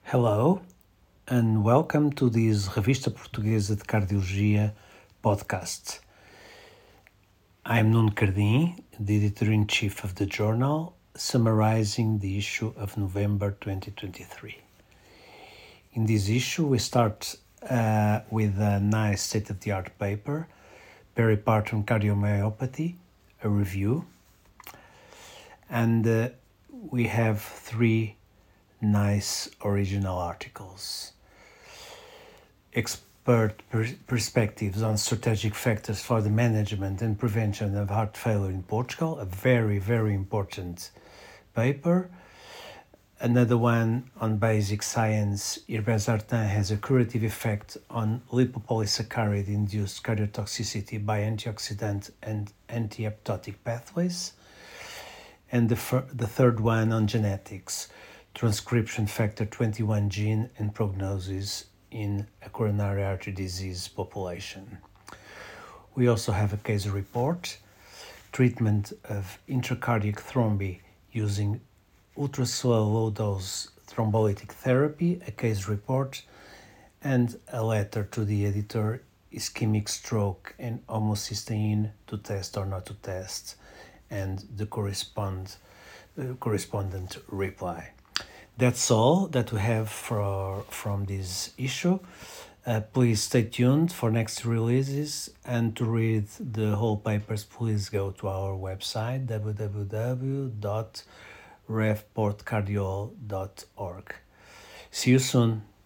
Hello and welcome to this Revista Portuguesa de Cardiologia podcast. I'm Nuno Cardim, the editor-in-chief of the journal, summarizing the issue of November 2023. In this issue, we start with a nice state-of-the-art paper, Peripartum Cardiomyopathy, a review, and we have three nice original articles. Expert perspectives on strategic factors for the management and prevention of heart failure in Portugal, a very, very important paper. Another one on basic science, irbesartan has a curative effect on lipopolysaccharide-induced cardiotoxicity by antioxidant and anti-apoptotic pathways. And the third one on genetics, transcription factor 21 gene and prognosis in a coronary artery disease population. We also have a case report, treatment of intracardiac thrombi using ultra-slow low-dose thrombolytic therapy, a case report, and a letter to the editor, ischemic stroke and homocysteine, to test or not to test, and the correspondent reply. That's all that we have from this issue. Please stay tuned for next releases, and to read the whole papers, please go to our website www.revportcardiol.org. See you soon.